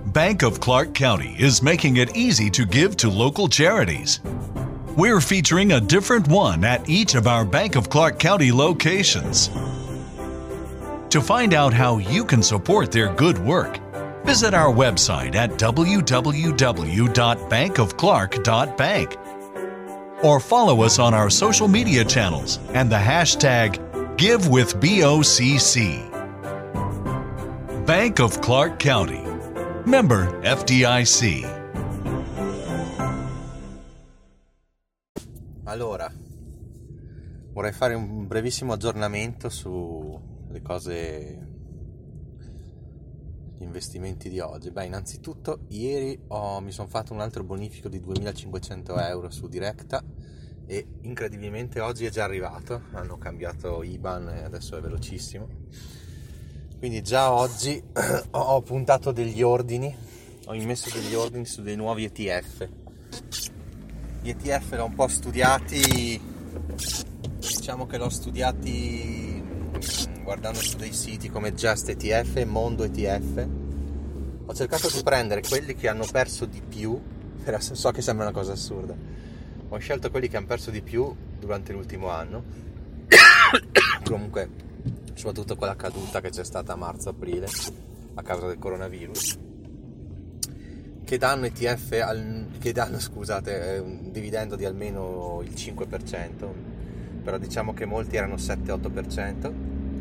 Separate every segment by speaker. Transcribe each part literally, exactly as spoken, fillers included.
Speaker 1: Bank of Clark County is making it easy to give to local charities. We're featuring a different one at each of our Bank of Clark County locations. To find out how you can support their good work, visit our website at w w w dot bank of clark dot bank or follow us on our social media channels and the hashtag GiveWithBOCC. Bank of Clark County. Member F D I C.
Speaker 2: Allora, vorrei fare un brevissimo aggiornamento sulle cose, gli investimenti di oggi. Beh, innanzitutto ieri ho, mi sono fatto un altro bonifico di duemilacinquecento euro su Directa e incredibilmente oggi è già arrivato, hanno cambiato I B A N e adesso è velocissimo. Quindi già oggi ho puntato degli ordini, ho immesso degli ordini su dei nuovi E T F. Gli E T F l'ho un po' studiati, diciamo che l'ho studiati guardando su dei siti come Just E T F e Mondo E T F. Ho cercato di prendere quelli che hanno perso di più, so che sembra una cosa assurda, ho scelto quelli che hanno perso di più durante l'ultimo anno, comunque soprattutto quella caduta che c'è stata a marzo-aprile a causa del coronavirus, che danno E T F al, che danno scusate un dividendo di almeno il cinque per cento, però diciamo che molti erano sette otto per cento.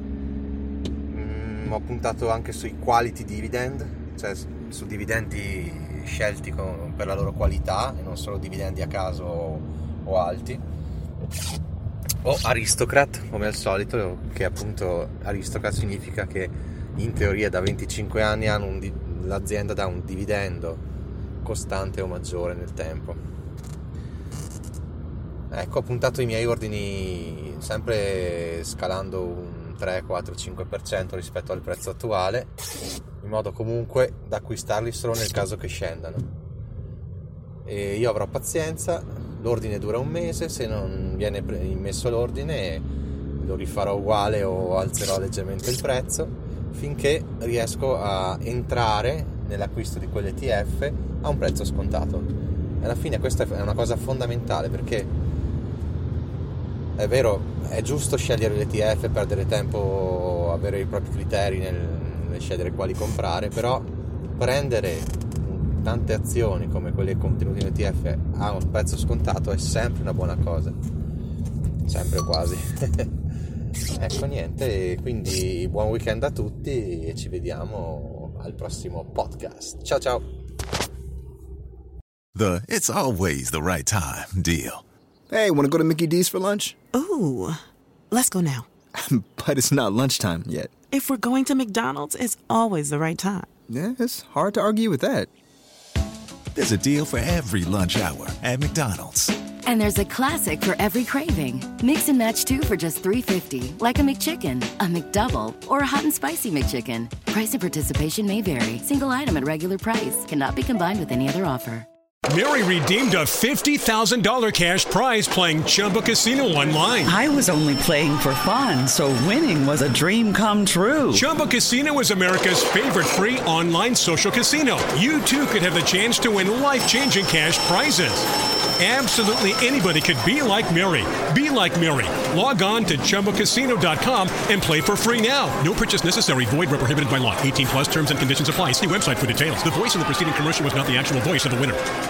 Speaker 2: mm, ho puntato anche sui quality dividend, cioè su dividendi scelti con, per la loro qualità e non solo dividendi a caso o, o alti, o Aristocrat come al solito, che appunto Aristocrat significa che in teoria da venticinque anni hanno un, l'azienda dà un dividendo costante o maggiore nel tempo. Ecco, ho puntato i miei ordini sempre scalando un tre, quattro, cinque per cento rispetto al prezzo attuale, in modo comunque da acquistarli solo nel caso che scendano. E io avrò pazienza, l'ordine dura un mese, se non viene immesso l'ordine lo rifarò uguale o alzerò leggermente il prezzo finché riesco a entrare nell'acquisto di quell'E T F a un prezzo scontato. E alla fine questa è una cosa fondamentale, perché è vero, è giusto scegliere l'E T F, perdere tempo, avere i propri criteri nel, nel scegliere quali comprare, però prendere tante azioni come quelle contenute in E T F a un prezzo scontato è sempre una buona cosa, sempre quasi. Ecco, niente, quindi buon weekend a tutti e ci vediamo al prossimo podcast. Ciao ciao.
Speaker 3: The it's always the right time deal.
Speaker 4: Hey, want to go to Mickey D's for lunch?
Speaker 5: Ooh, let's go now.
Speaker 4: But it's not lunchtime yet.
Speaker 5: If we're going to McDonald's, it's always the right time.
Speaker 4: Yeah, it's hard to argue with that.
Speaker 3: There's a deal for every lunch hour at McDonald's.
Speaker 6: And there's a classic for every craving. Mix and match two for just three fifty, like a McChicken, a McDouble, or a hot and spicy McChicken. Price and participation may vary. Single item at regular price. Cannot be combined with any other offer.
Speaker 7: Mary redeemed a fifty thousand dollars cash prize playing Chumba Casino online.
Speaker 8: I was only playing for fun, so winning was a dream come true.
Speaker 7: Chumba Casino is America's favorite free online social casino. You too could have the chance to win life-changing cash prizes. Absolutely anybody could be like Mary. Be like Mary. Log on to Chumba Casino dot com and play for free now. No purchase necessary. Void where prohibited by law. eighteen plus terms and conditions apply. See website for details. The voice of the preceding commercial was not the actual voice of the winner.